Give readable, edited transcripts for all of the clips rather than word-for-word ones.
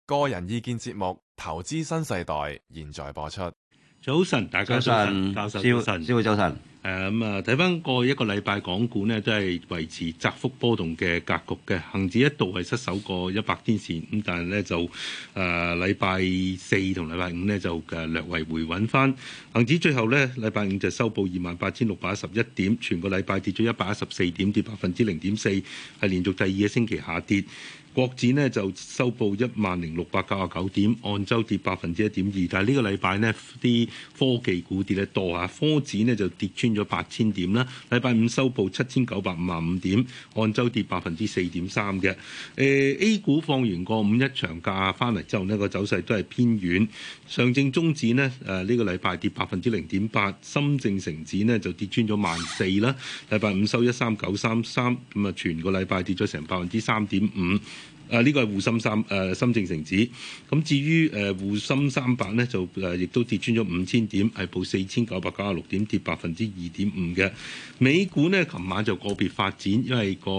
個人意見節目《投資新世代》現在播出。 早晨，大家早晨，教授早晨， 師傅早晨。 睇翻過去一個禮拜，港股呢都係維持窄幅波動嘅格局嘅，恆指一度係失守過100天線，咁但係咧就禮拜四同禮拜五呢就略為回穩翻，恆指最後咧禮拜五就收報28,611點，全個禮拜跌咗114點，跌0.4%，係連續第二個星期下跌。國指呢就收報10,699點，按周跌1.2%，但係呢個禮拜呢啲科技股跌得多啊，科指呢就跌穿咗8,000點啦。禮拜五收報7,955點，按周跌4.3%嘅。A 股放完個五一長假翻嚟之後呢個走勢都係偏軟，上證綜指呢呢個禮拜跌0.8%，深證成指呢就跌穿咗14,000啦。禮拜五收13933，咁啊全個禮拜跌咗成3.5%。呢個係滬深深證成指，咁至於滬深300呢，就亦都跌穿咗5,000點，係報4,996點，跌2.5%嘅。美股呢，琴晚就個別發展，因為個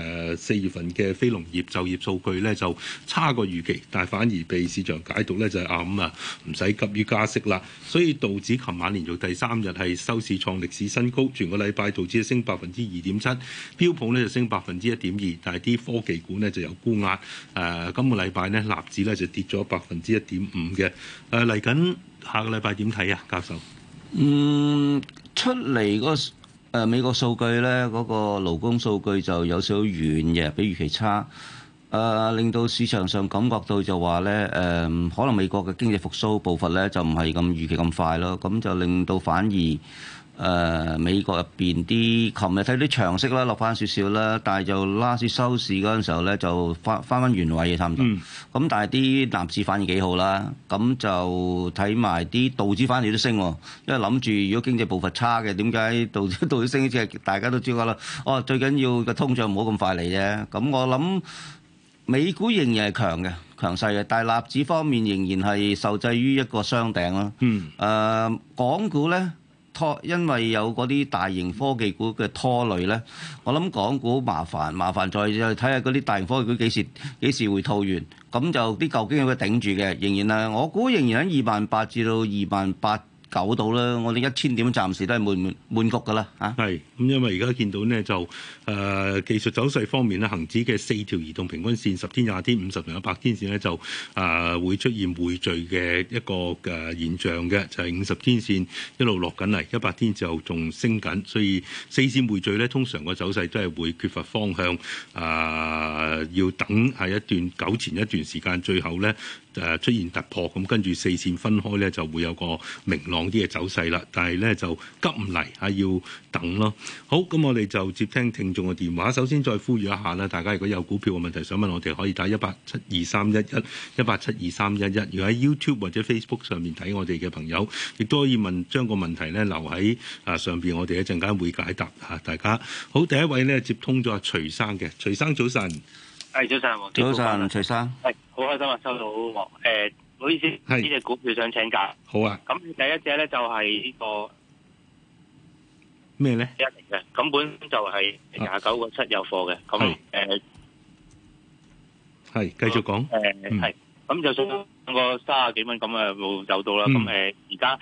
4月份嘅非農業就業數據呢就差過預期，但係反而被市場解讀呢就係唔使急於加息啦。所以道指琴晚連續第3日係收市創歷史新高，全個禮拜道指升2.7%，標普呢就升1.2%，但係啲科技股呢就有沽壓。今個禮拜呢，納指咧就跌咗1.5%嘅。嚟緊下個禮拜點睇啊，教授？ 出嚟嗰個美國數據咧，嗰個勞工數據就有少少軟嘅，比預期差。令到市場上感覺到就話咧，可能美國嘅經濟復甦步伐咧就唔係咁預期咁快咯，咁就令到反而。美國入邊啲，琴日睇啲長息啦，落翻少少啦，但係就拉市收市嗰陣時候咧，就翻原位嘅差唔多。咁但係啲納指反而幾好啦，咁就睇埋啲道指反而都升喎，因為諗住如果經濟步伐差嘅，點解道指升？即係大家都知㗎啦。最緊要個通脹唔好咁快嚟啫。咁我諗美股仍然係強勢嘅，但係納指方面仍然係受制於一個雙頂咯。港股咧。因為有嗰啲大型科技股嘅拖累咧，我諗港股麻煩再睇下嗰啲大型科技股幾時會套完，咁就啲舊經濟會頂住嘅，仍然我估仍然喺28,000至到28,900度啦，我哋1000點暫時都係滿局噶啦嚇。 係咁，因為而家見到呢，就技術走勢方面咧，恆指嘅4條移動平均線10天、20天、50同100天線咧就會出現匯聚嘅一個現象嘅，就係50天線一路落緊嚟，100天就仲升緊，所以4線匯聚咧，通常個走勢都係會缺乏方向，要等係糾纏一段時間，最後咧出現突破，咁跟住4線分開咧就會有個明朗啲嘅走勢啦，但係咧就急唔嚟要等咯。好，咁我哋就接聽聽眾嘅電話。首先再呼籲一下啦，大家如果有股票嘅問題想問我哋，可以打1872311，1872311。如果喺 YouTube 或者 Facebook 上面睇我哋嘅朋友，亦都可以將個問題咧留喺上邊，我哋一陣間會解答嚇大家。好，第一位咧接通咗徐生嘅，徐生早晨。 係早晨， 早晨，徐生。 係好開心啊！收到唔好意思，呢隻股票想請教。 好啊。咁第一隻咧就係呢個咩咧？ 一零嘅，咁本就係29.7有貨嘅。咁係繼續講。 係咁就上個30幾蚊咁冇走到啦。咁而家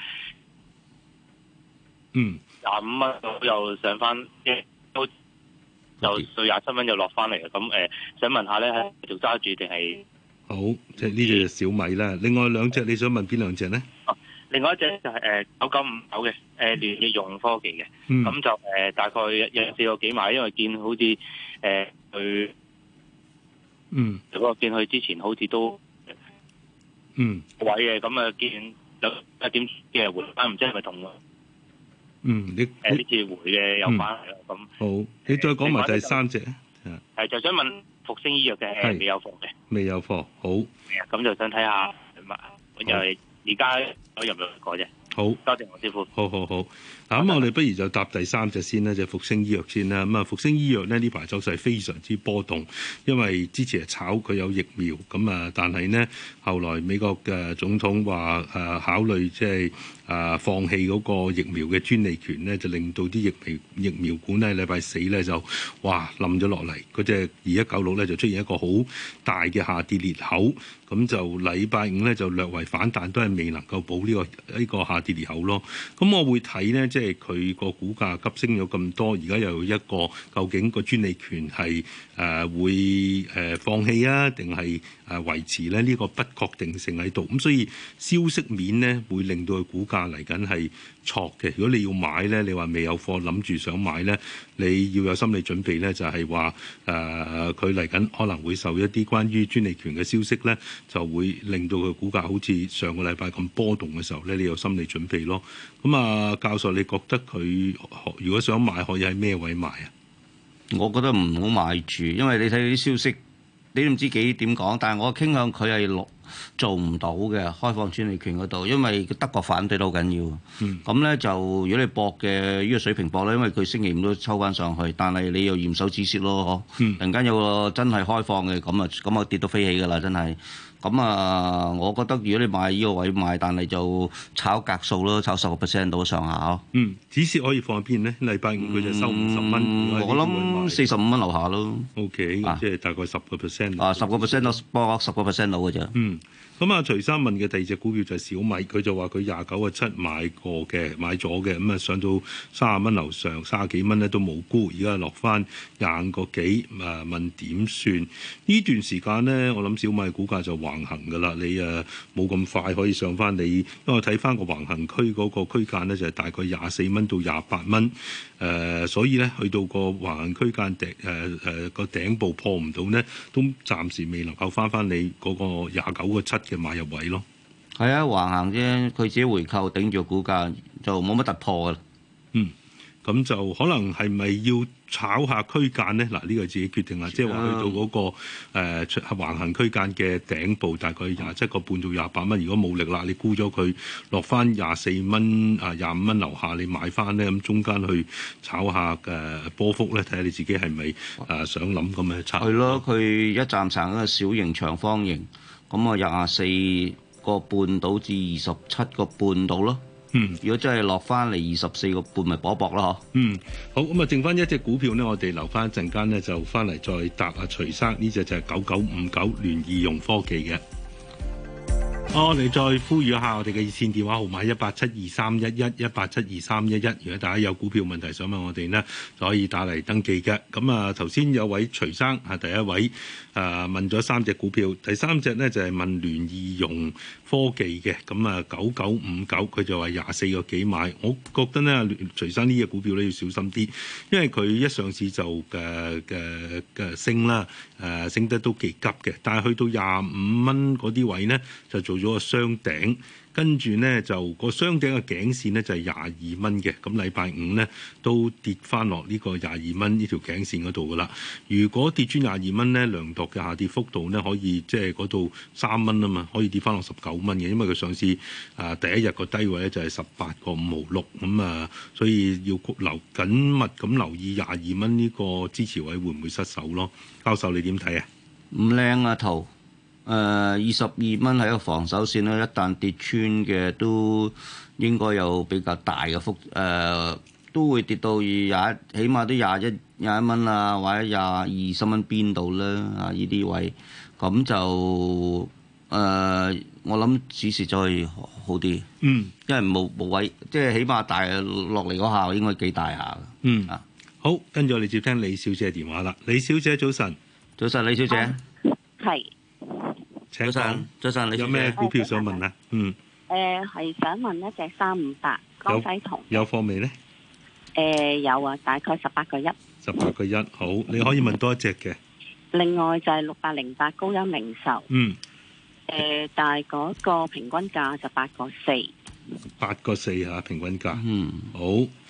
25蚊又上翻，都又到27蚊又落翻嚟嘅。咁想問下咧，係繼續揸住定係？ 好，即係呢隻小米啦。另外兩隻你想問邊兩隻咧？ 另外一隻就係9959嘅聯易融科技嘅，咁就大概有4個幾買，因為見好似佢嗰個見佢之前好似都位嘅，咁見有1點嘅回翻，唔知係咪同你呢次回嘅有關係啦。咁好，你再講埋第三隻係就想問復星醫藥嘅未有貨嘅， 未有貨。好， 咁就想睇下又係而家有冇過啫？ 好， 多謝黃師傅。 好。嗱，咁我哋不如就搭第三隻先啦，就復星醫藥先啦。咁啊，復星醫藥呢排走勢非常之波動，因為之前係炒佢有疫苗，咁啊，但係呢，後來美國嘅總統話考慮即係放棄嗰個疫苗嘅專利權呢，就令到啲疫苗股呢禮拜四呢就哇冧咗落嚟，嗰隻2196呢就出現一個好大嘅下跌裂口，咁就禮拜五呢就略為反彈，都係未能夠補呢個下跌裂口咯。咁我會睇呢，即係佢個股價急升咗咁多，而家又有一個究竟個專利權係會放棄啊，定係維持咧？呢個不確定性喺度，咁所以消息面呢會令到佢股價嚟緊係挫嘅。如果你要買咧，你話未有貨諗住想買咧，你要有心理準備咧，就係話佢嚟緊可能會受一啲關於專利權嘅消息咧，就會令到佢股價好似上個禮拜咁波動嘅時候咧，你有心理準備咯。咁啊，教授，你覺得佢如果想買，可以喺咩位買啊？ 我覺得唔好買住，因為你睇啲消息，你都唔知幾點講。但係我傾向佢係做唔到嘅開放專利權嗰度，因為德國反對都好緊要。咁咧就如果你搏嘅呢個水平搏咧，因為佢星期五都抽翻上去，但係你又嚴守止蝕咯，突然間有個真係開放嘅，咁啊跌到飛起㗎啦，真係。咁啊，我覺得如果你買呢個位買，但係就炒格數咯，炒10% 到上下咯。 止蝕可以放喺邊咧？禮拜五佢就收50蚊， 我諗45蚊樓下咯。 OK，即係大概10%。 10% 到博10%到嘅啫。 咁啊，徐生問嘅第二隻股票就係小米，佢就話佢29.7買咗嘅，咁啊上到30蚊樓上30幾蚊咧都冇沽，而家落翻25個幾，問點算？呢段時間咧，我諗小米股價就橫行㗎啦，你冇咁快可以上翻你，因為我睇翻個橫行區嗰個區間咧就係大概24蚊到28蚊，所以咧去到個橫行區間個頂部破唔到咧，都暫時未能夠翻你嗰個29.7嘅買入位咯。 係啊，橫行啫，佢自己回購頂住股價就冇乜突破㗎。 咁就可能係咪要炒下區間咧？嗱，呢個自己決定啦。即係話去到嗰個橫行區間嘅頂部，大概27個半到28蚊。如果冇力啦，你沽咗佢落翻24蚊25蚊樓下，你買翻咧，咁中間去炒下波幅咧，睇下你自己係咪想諗咁嘅策略。係咯， 佢一站成一個小型長方形，咁啊24個半到至27個半到咯。如果真係落翻嚟24個半，咪搏咯嗬。 好，咁啊，剩翻一隻股票咧，我哋留翻一陣間咧，就翻嚟再答阿徐生。呢隻就係9959聯易融科技嘅。我哋再呼籲一下我哋嘅熱線電話號碼1872311，1872311。如果大家有股票問題想問我哋呢，就可以打嚟登記嘅。咁啊，頭先有位徐生係第一位問咗3隻股票，第三隻呢就係問聯易融科技嘅。咁啊9959，佢就話24個幾買。我覺得呢，徐生呢隻股票咧要小心啲，因為佢一上市就嘅升啦，升得都幾急嘅。但係去到25蚊嗰啲位呢，就做咗個雙頂，跟住呢就個雙頂嘅頸線呢就係22蚊嘅，咁禮拜五呢都跌翻落呢個22蚊呢條頸線嗰度噶啦。如果跌穿22蚊呢，量度嘅下跌幅度呢可以即係嗰度3蚊啊嘛，可以跌翻落19蚊嘅，因為佢上市第一日個低位咧就係18個5毫6，咁所以要緊密咁留意22蚊呢個支持位會唔會失守咯？教授你點睇啊？ 唔靚啊圖。22蚊係一個防守線啦，一旦跌穿嘅都應該有比較大嘅幅，都會跌到起碼都21蚊啊，或者23蚊邊度啦啊！呢啲位咁就我諗止蝕再好啲，因為冇位，即係起碼大落嚟嗰下應該幾大下嘅。 好，跟住我哋接聽李小姐電話啦。李小姐早晨， 早晨李小姐， 係。 早晨， 你有咩股票想問啊？ 係想問一隻358江西銅有貨未咧？ 有啊，大概18.1。 18.1，好，你可以問多一隻嘅。 另外就係6808高鑫零售。但係嗰個平均價就8.4。 8.4嚇平均價。好，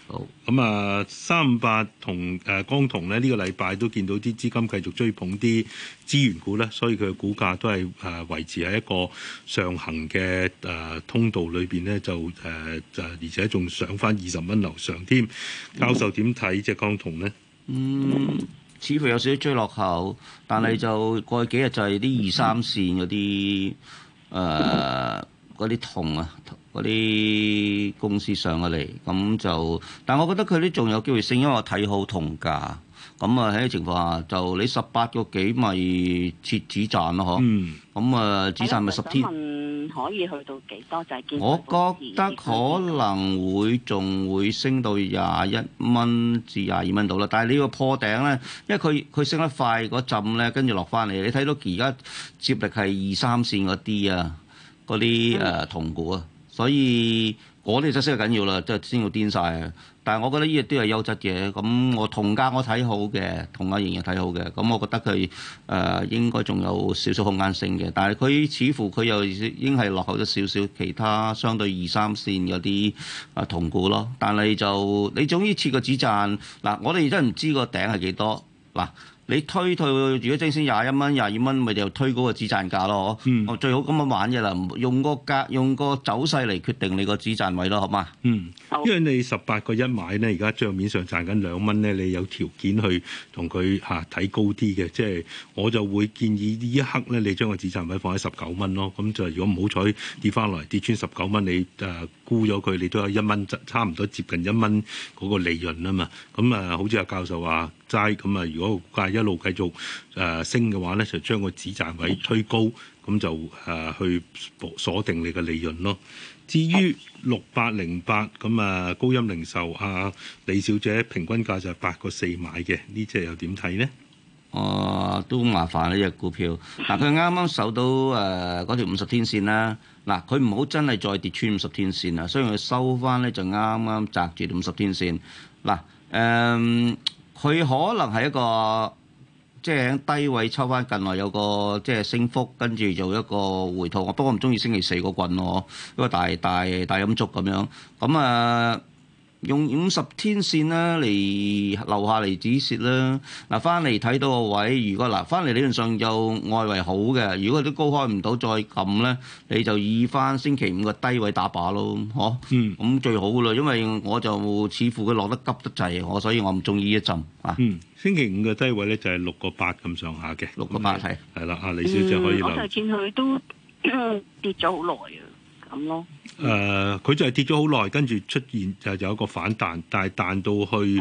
好， 咁啊，358同江銅咧，呢個禮拜都見到啲資金繼續追捧啲資源股咧，所以佢嘅股價都係維持喺一個上行嘅通道裏邊咧，就而且仲上翻20蚊樓上添。教授點睇隻江銅咧？ 似乎有少少追落後，但係就過去幾日就係啲2、3線嗰啲嗰啲銅啊，嗰啲公司上咗嚟，咁就，但我覺得佢啲仲有機會升，因為我睇好銅價。咁啊喺呢情況下，就你18個幾咪設止賺咯，嗬。咁啊，止賺咪10天。 可以去到幾多？就係見我覺得可能會仲會升到21蚊至22蚊度啦。但係你個破頂咧，因為佢升得快嗰陣咧，跟住落翻嚟。你睇到而家接力係2、3線嗰啲啊，嗰啲銅股啊，所以嗰啲就升得緊要啦，即係升到癲晒啊！但係我覺得呢啲都係優質嘅，咁我銅價我睇好嘅，銅價仍然睇好嘅，咁我覺得佢應該仲有少少空間升嘅，但係佢似乎佢又已經係落後咗少少其他相對2、3線嗰啲銅股咯，但係就你總之設個止賺嗱，我哋真係唔知個頂係幾多嗱。你推如果正先21蚊、22蚊，咪就推嗰個止賺價咯，我最好咁樣玩嘅啦，用個走勢嚟決定你個止賺位咯，好嘛？因為你18個1買咧，而家帳面上賺緊2蚊咧，你有條件去同佢睇高啲嘅，即係我就會建議呢一刻咧，你將個止賺位放喺19蚊咯。咁就如果唔好彩跌翻落嚟跌穿19蚊，你沽咗佢，你都有1蚊，差唔多接近1蚊嗰個利潤啊嘛。咁好似阿教授話齋咁啊，如果個價一路繼續升嘅話咧，就將個止賺位推高，咁就去鎖定你嘅利潤咯。至於6808咁高鑫零售李小姐平均價就係8個4買嘅，呢隻又點睇呢？ 都麻煩呢隻股票。嗱，佢啱啱守到嗰條50天線啦。嗱，佢唔好真係再跌穿50天線啦，所以佢收翻咧就啱啱擲住50天線。嗱，佢可能係一個即係喺低位抽翻近來有個即係升幅，跟住做一個回吐。不過我唔中意星期4個棍咯，一個大陰燭咁樣。咁用50天線啦嚟留下嚟止蝕啦。嗱，翻嚟睇到個位，如果翻嚟理論上就外圍好嘅，如果都高開唔到再撳咧，你就以翻星期5個低位打靶咯，嗬。咁最好噶啦，因為我就似乎佢落得急得滯，所以我唔中意一陣啊。 星期5嘅低位咧就係6個8咁上下嘅 ，6個8係啦。阿李小姐可以留。 我就見佢都跌咗好耐啊。咁咯， 佢就係跌咗好耐，跟住出現就有一個反彈，但係彈到去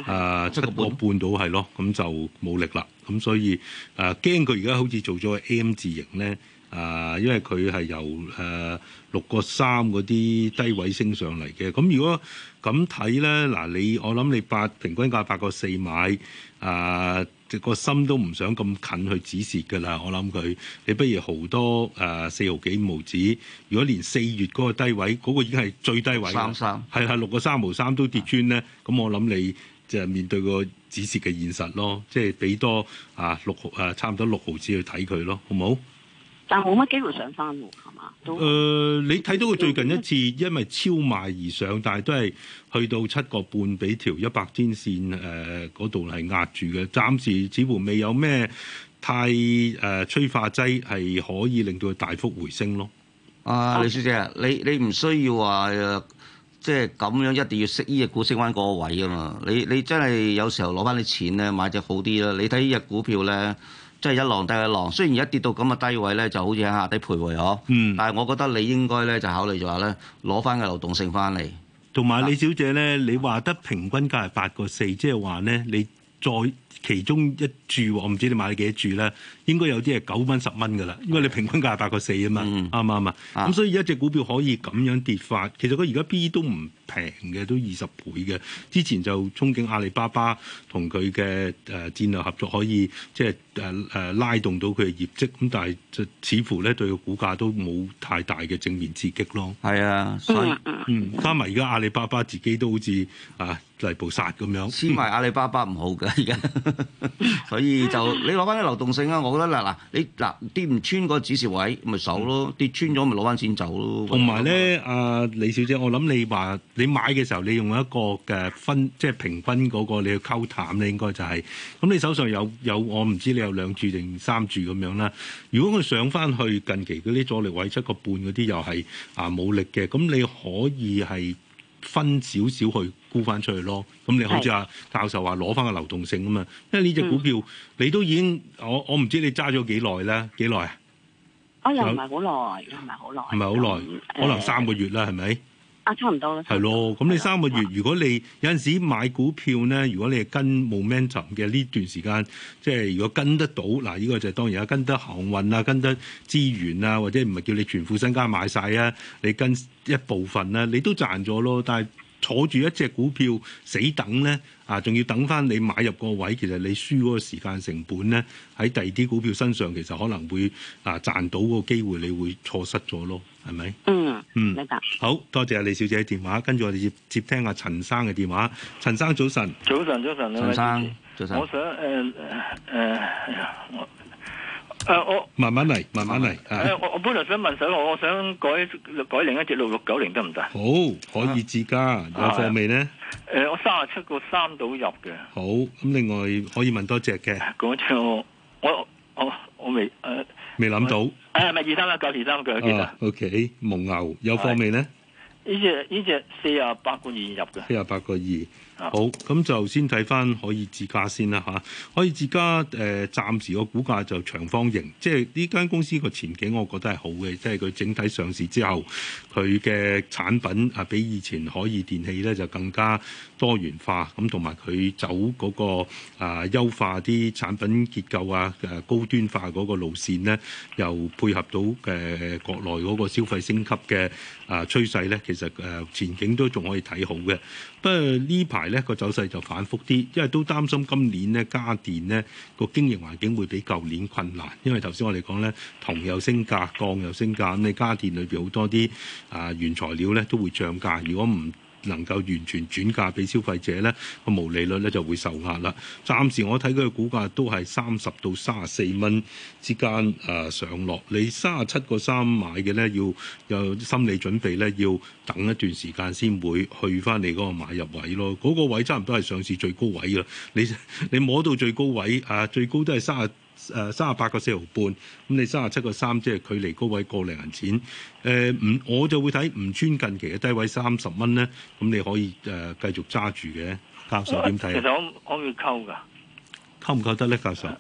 7個半到係咯，咁就冇力啦。咁所以驚佢而家好似做咗個 M 字形咧，因為佢係由6個3嗰啲低位升上嚟嘅。咁如果咁睇咧，嗱我諗你平均價8個4買個心都唔想咁近去止蝕㗎啦，我諗佢，你不如豪多4毫幾5毫子。如果連4月嗰個低位，嗰個已經係最低位啦，係6個3毫3都跌穿咧，咁我諗你就面對個止蝕嘅現實咯，即係俾多差唔多6毫子去睇佢咯，好唔好？ 但冇乜機會上翻喎，係嘛？ 你睇到佢最近一次因為超賣而上，但係都係去到7個半，俾條100天線嗰度係壓住嘅。暫時似乎未有咩太催化劑係可以令到佢大幅回升咯。 李小姐，你唔需要話即係咁樣一定要識呢隻股升翻嗰個位㗎嘛？你真係有時候攞翻啲錢咧買隻好啲啦。你睇呢隻股票咧。即係一浪低一浪，雖然而家跌到咁嘅低位咧，就好似喺下低徘徊嗬。但係我覺得你應該咧就考慮就話咧攞翻個流動性翻嚟。同埋李小姐咧，你話得平均價係8個4，即係話咧你再其中一注，我唔知你買咗幾多注咧，應該有啲係9蚊10蚊㗎啦，因為你平均價係8個4啊嘛，啱唔啱啊？咁所以一隻股票可以咁樣跌法，其實佢而家 P 都唔平嘅，都20倍嘅。之前就憧憬阿里巴巴同佢嘅戰略合作可以即係拉動到佢嘅業績，咁但係就似乎咧對個股價都冇太大嘅正面刺激咯。 係啊，所以加埋而家阿里巴巴自己都好似泥菩薩咁樣， 黐埋阿里巴巴唔好㗎而家。 所以就你攞翻啲流動性啊！我覺得你跌唔穿個指示位咪守咯，跌穿咗咪攞翻錢走咯。 同埋咧，阿李小姐，我諗你話你買嘅時候，你用一個嘅即係平均嗰個，你去溝淡咧，應該就係咁。你手上有我唔知你有2注定3注咁樣啦。如果佢上翻去近期嗰啲阻力位7.5嗰啲又係冇力嘅，咁你可以係分少少去沽翻出去咯。咁你好似阿教授話攞翻個流動性啊嘛，因為呢隻股票你都已經我唔知你揸咗幾耐啦，幾耐啊？ 又唔係好耐，唔係好耐， 唔係好耐，可能3個月啦，係咪？ 差唔多啦。 係咯，咁你3個月，如果你有陣時買股票咧，如果你係跟 momentum 嘅呢段時間，即係如果跟得到，嗱，呢個就當然啦，跟得航運啊，跟得資源啊，或者唔係叫你全副身家買晒啊，你跟一部分啊，你都賺咗咯。但係坐住一隻股票死等咧，仲要等翻你買入個位，其實你輸嗰個時間成本咧，喺第二啲股票身上，其實可能會賺到個機會，你會錯失咗咯，係咪？明白。好多謝李小姐嘅電話，跟住我哋接聽阿陳生嘅電話。陳生早晨。 早晨， 陳生早晨。 我想我慢慢嚟。 我本來想問我想改另一隻6690得唔得？ 好，可以自家有貨未呢？ 我37個3到入嘅。 好，咁另外可以問多隻嘅。 嗰隻我未諗到。 咪231923嘅記得。 OK， 蒙牛有貨未呢？ 呢隻48個2入嘅。 48個2。好，咁就先睇翻可以自家先啦嚇。可以自家暫時個股價就長方形，即係呢間公司個前景，我覺得係好嘅，即係佢整體上市之後，佢嘅產品比以前可以電器咧就更加多元化，咁同埋佢走嗰個優化啲產品結構高端化嗰個路線咧，又配合到國內嗰個消費升級嘅趨勢咧，其實前景都仲可以睇好嘅。不過呢排咧個走勢就反覆啲，因為都擔心今年咧家電咧個經營環境會比舊年困難，因為頭先我哋講咧銅又升價，鋼又升價，咁你家電裏邊好多啲原材料咧都會漲價，如果唔能夠完全轉嫁俾消費者咧，個毛利率咧就會受壓啦。暫時我睇佢嘅股價都係30到34蚊之間上落。你37個3買嘅咧，要有心理準備咧，要等一段時間先會去翻你嗰個買入位咯。嗰個位差唔多係上市最高位啦。你摸到最高位最高都係38個4毫半，咁你37個3，即係距離高位個零銀錢。我就會睇唔穿近期嘅低位30蚊咧，咁你可以繼續揸住嘅。教授點睇？ 其實我可唔可以溝㗎？ 溝唔溝得咧，教授？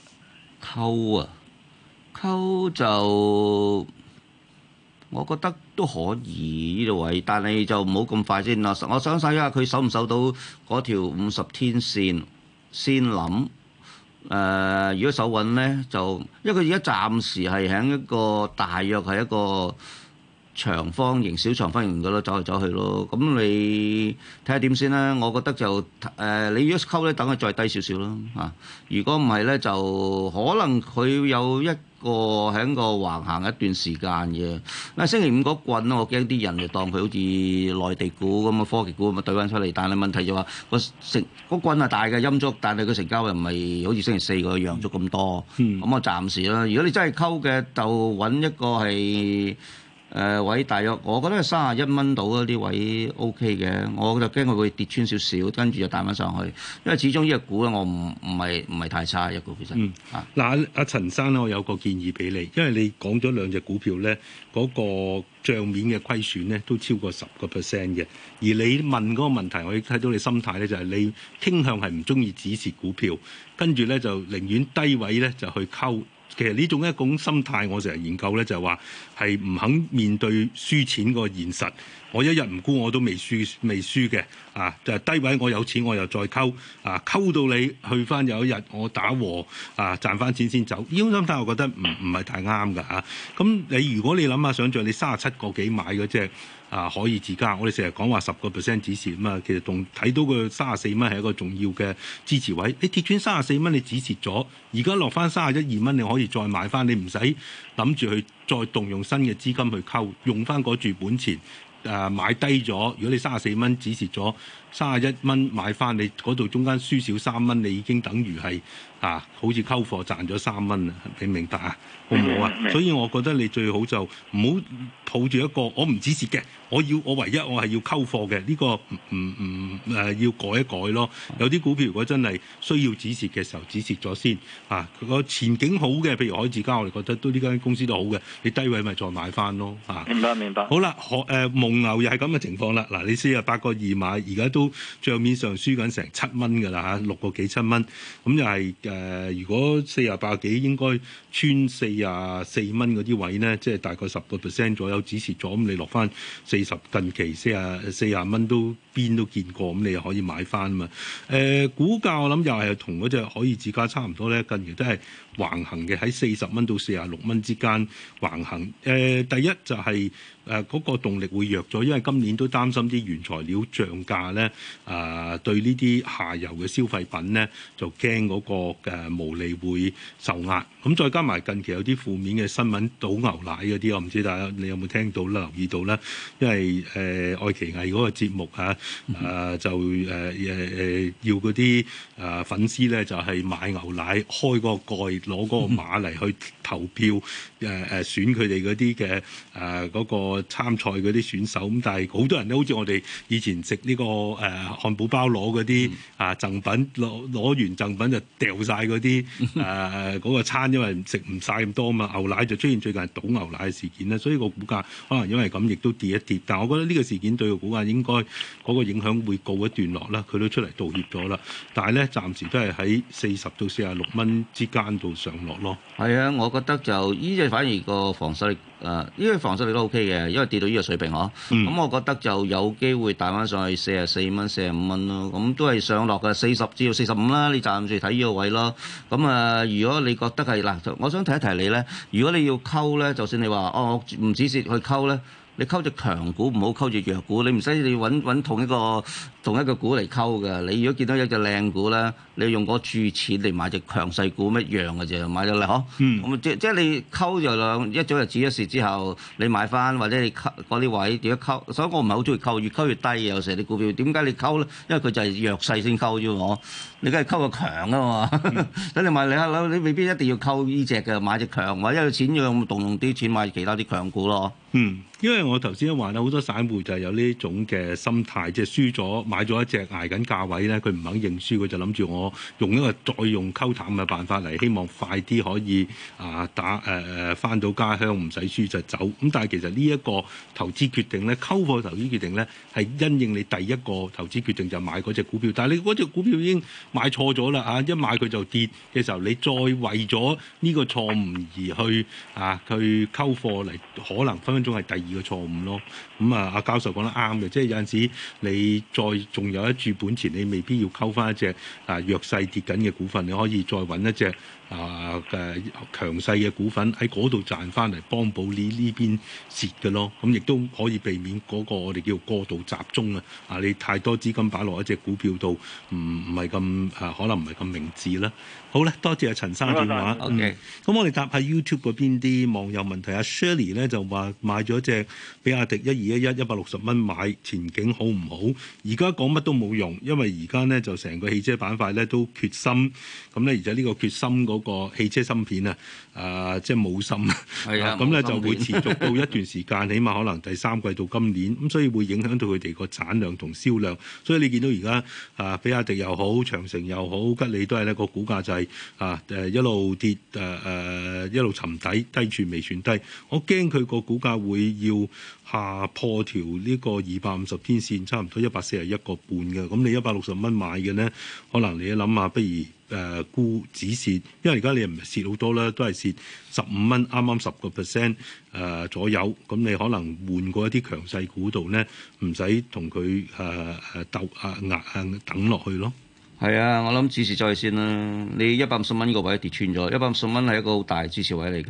溝就我覺得都可以呢度位，但係就唔好咁快先啦。我想睇下佢守唔守到嗰條50天線先諗。如果手穩咧，就因為佢而家暫時係喺一個大約係一個長方形、小長方形嗰度走嚟走去咯。咁你睇下點先啦。我覺得就你如果溝咧，等佢再低少少咯嚇。如果唔係咧，就可能佢有一個喺個橫行一段時間嘅。星期5嗰棍我驚啲人就當佢好似內地股咁嘅科技股咁啊對翻出嚟。但係問題就話個棍係大嘅陰燭，但係佢成交又唔係好似星期4個陽燭咁多。咁我暫時啦。如果你真係溝嘅，就揾一個係。位大約，我覺得係31蚊到嗰啲位 OK 嘅，我就驚佢會跌穿少少，跟住就彈翻上去。因為始終呢個股咧，我唔係太差一個其實。 嗱，阿陳生咧，我有個建議俾你，因為你講咗2隻股票咧，嗰個帳面嘅虧損咧都超過10%嘅，而你問嗰個問題，我睇到你心態咧就係你傾向係唔中意止蝕股票，跟住咧就寧願低位咧就去溝。其實呢種一種心態，我成日研究咧，就係話係唔肯面對輸錢個現實。我一日唔沽我都未輸嘅就係低位我有錢我又再溝溝到你去翻有一日我打和賺翻錢先走。呢種心態我覺得唔係太啱㗎。咁你如果你諗下想像你37個幾買嗰隻可以自家，我哋成日講話10% 止蝕嘛，其實仲睇到個34蚊係一個重要嘅支持位。你跌穿34蚊你止蝕咗，而家落翻31、2蚊你可以再買翻，你唔使諗住去再動用新嘅資金去溝，用翻嗰注本錢。 買低咗，如果你34蚊止蝕咗31蚊買翻，你嗰度中間輸少3蚊，你已經等於係好似溝貨賺咗3蚊啊！你明白啊？好唔好啊？所以我覺得你最好就唔好抱住一個我唔止蝕嘅，我唯一我係要溝貨嘅呢個要改一改咯。有啲股票如果真係需要止蝕嘅時候，止蝕咗先佢個前景好嘅，譬如海智家，我哋覺得都呢間公司都好嘅，你低位咪再買翻咯明白。 好啦，蒙牛又係咁嘅情況啦。嗱，你48個2買，而家都帳面上輸緊成7蚊㗎啦6個幾7蚊，咁又係如果48幾應該穿44蚊嗰啲位呢，即係大概10% 左右止蝕咗，咁你落翻40近期40蚊都邊都見過，咁你又可以買翻嘛。股價我諗又係同嗰隻海爾智家差唔多咧，近期都係橫行嘅，喺40蚊到46蚊之間橫行。第一就係嗰個動力會弱咗，因為今年都擔心啲原材料漲價咧，對呢啲下游嘅消費品咧就驚嗰個毛利會受壓。咁再加埋近期有啲負面嘅新聞，倒牛奶嗰啲，我唔知大家你有冇聽到啦、留意到啦？因為愛奇藝嗰個節目就要嗰啲粉絲咧就係買牛奶，開個蓋，攞嗰個碼嚟去投票選佢哋嗰啲嘅嗰個參賽嗰啲選手。咁但係好多人咧，好似我哋以前食呢個漢堡包攞嗰啲贈品，攞完贈品就掉晒嗰啲嗰個餐，因為食唔晒咁多嘛。牛奶就出現最近係倒牛奶嘅事件咧，所以個股價可能因為咁亦都跌一跌。但係我覺得呢個事件對個股價應該嗰個影響會告一段落啦。佢都出嚟道歉咗啦，但係咧暫時都係喺40到46蚊之間度上落咯。 係啊，我覺得就呢隻反而個防守力呢個防守力都 OK 嘅，因為跌到呢個水平嗬。咁我覺得就有機會彈翻上去44蚊、45蚊咯。咁都係上落嘅40至到45啦。你暫時睇呢個位咯。咁如果你覺得係嗱，我想提一提你咧，如果你要溝咧，就算你話我唔止蝕去溝咧。你溝隻強股唔好溝隻弱股，你唔使你揾同一個股嚟溝嘅。你如果見到一隻靚股咧，你用嗰注錢嚟買隻強勢股一樣嘅啫，買咗嚟嗬。咁即係你溝就一早就止一蝕之後，你買翻或者你溝嗰啲位點樣溝？所以我唔係好中意溝，越溝越低。有時啲股票點解你溝咧？因為佢就係弱勢先溝啫我。你梗係溝個強啊嘛。等你買你未必一定要溝呢隻嘅，買隻強，或者有錢要動用啲錢買其他啲強股咯。 因為我頭先都話啦，好多散戶就係有呢種嘅心態，即係輸咗買咗一隻捱緊價位咧，佢唔肯認輸，佢就諗住我用一個再用溝淡嘅辦法嚟，希望快啲可以返到家鄉唔使輸就走。咁但係其實呢一個投資決定咧，溝貨投資決定咧，係因應你第一個投資決定就買嗰隻股票，但係你嗰隻股票已經買錯咗啦一買佢就跌嘅時候，你再為咗呢個錯誤而去去溝貨嚟，可能分分鐘係第二個錯誤咯。咁阿教授講得啱嘅，即係有陣時你再仲有一注本錢，你未必要溝翻一隻弱勢跌緊嘅股份，你可以再揾一隻嘅強勢嘅股份喺嗰度賺翻嚟，幫補呢邊蝕嘅咯。咁亦都可以避免嗰個我哋叫過度集中你太多資金擺落一隻股票度，唔係咁可能唔係咁明智啦。好咧，多謝阿陳生電話。 OK， 咁我哋答下 YouTube 嗰邊啲網友問題。阿 Shirley 咧就話買咗隻比亞迪1211 160蚊買，前景好唔好？而家講乜都冇用，因為而家咧就成個汽車板塊咧都缺芯，咁咧而且呢個缺芯嗰個汽車芯片即係冇芯，咁咧就會持續到一段時間，起碼可能第三季到今年，咁所以會影響到佢哋個產量同銷量。所以你見到而家比亞迪又好，長城又好，吉利都係呢個股價就係一路跌一路沉底，低處未算低。我驚佢個股價會要下破條呢個250天線，差唔多141個半嘅。咁你160蚊買嘅呢，可能你一諗下，不如沽止蝕，因為而家你唔係蝕好多啦，都係蝕15蚊，啱啱10% 左右。咁你可能換過一啲強勢股度呢，唔使同佢等落去咯。 係啊，我諗止蝕再先啦。你150蚊個位跌穿咗，150蚊係一個好大支持位嚟㗎。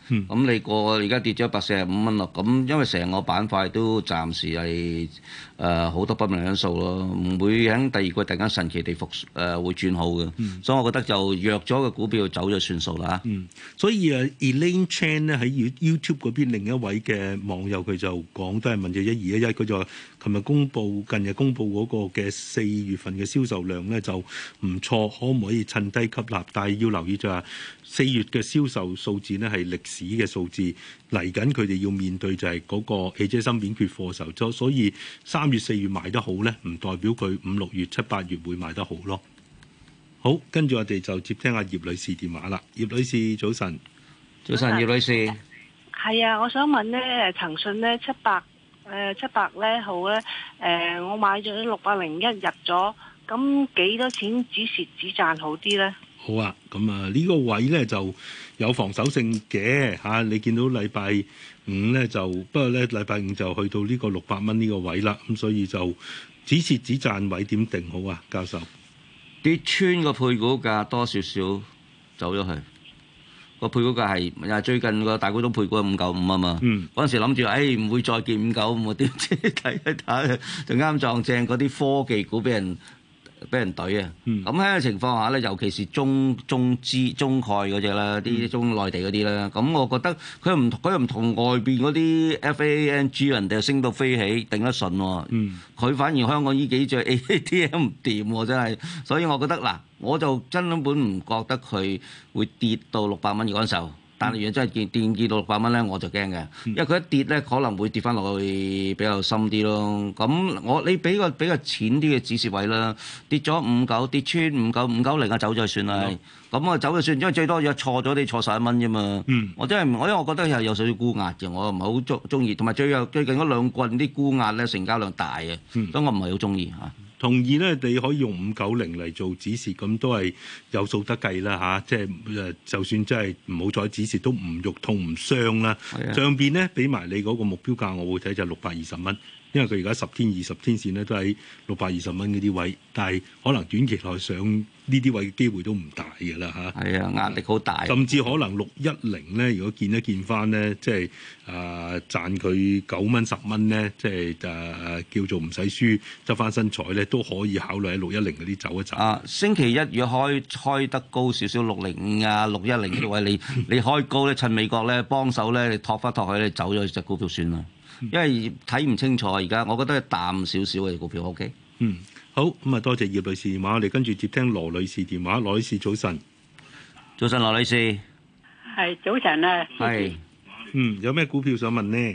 咁你過而家跌咗145蚊咯，咁因為成個板塊都暫時係好多不明因素咯，唔會喺第二季突然間神奇地會轉好嘅，所以我覺得就弱咗嘅股票走咗算數啦。 所以Elaine Chan 咧喺 YouTube 嗰邊另一位嘅網友佢就講都係問咗1211，佢就話近日公布嗰個嘅4月份嘅銷售量咧就唔錯，可唔可以趁低吸納？但係要留意就係4月嘅銷售數字呢係歷史嘅數字，嚟緊佢哋要面對就係嗰個汽車芯片缺貨時候，所以3月4月賣得好咧，唔代表佢5、6月、7、8月會賣得好咯。好，跟住我哋就接聽阿葉女士電話啦。葉女士早晨。 早晨，葉女士。 係啊，我想問咧，騰訊咧700咧好咧，我買咗601入咗，咁幾多錢止蝕止賺好啲咧？ 好啊，咁啊呢個位咧就有防守性嘅嚇，你見到禮拜五咧就，不過咧禮拜五就去到呢個600蚊呢個位啦，咁所以就止蝕止賺位點定好啊，教授？ 跌穿個配股價多少少走咗去，個配股價係最近個大股東配股係595啊嘛，嗰陣時諗住唔會再見595，點知睇一睇就啱撞正嗰啲科技股俾人懟啊！咁喺個情況下咧，尤其是中概嗰隻啦，啲中內地嗰啲啦，咁我覺得佢又唔同外邊嗰啲 FANG 人哋升到飛起，頂得順喎。佢反而香港呢幾隻 ATM 唔掂喎，真係。所以我覺得嗱，我就根本唔覺得佢會跌到600蚊嗰陣時候。但係如果真係跌到600蚊咧，我就驚嘅，因為佢一跌咧，可能會跌翻落去比較深啲咯。咁你俾個比較淺啲嘅止蝕位啦，跌咗59，跌穿590啊，走咗算啦。咁走就算，因為最多有錯咗，你錯11蚊啫嘛。我真係因為我覺得係有少少沽壓嘅，我唔係好中意。同埋最近嗰兩棍啲沽壓咧，成交量大嘅，所以我唔係好中意嚇。 同意咧，你可以用590嚟做止蝕，咁都係有數得計啦嚇。即係就算真係唔好再止蝕，都唔肉痛唔傷啦。上邊咧俾埋你嗰個目標價，我會睇就620蚊。因為佢而家10天、20天線咧都喺620蚊嗰啲位，但係可能短期內上呢啲位嘅機會都唔大㗎啦嚇。 係啊，壓力好大。 甚至可能610咧，如果見一見翻咧，即係賺佢9蚊10蚊咧，即係叫做唔使輸執翻身彩咧，都可以考慮喺610嗰啲走一走。 星期一如果開得高少少605啊、610嗰啲位，你開高咧，趁美國咧幫手咧，你托翻托去，你走咗隻股票算啦。因為睇唔清楚而家，我覺得係淡少少嘅股票 OK。 好，咁啊，多謝葉女士電話，我哋跟住接聽羅女士電話。羅女士早晨。 早晨，羅女士。 係早晨啊。 係。 有咩股票想問呢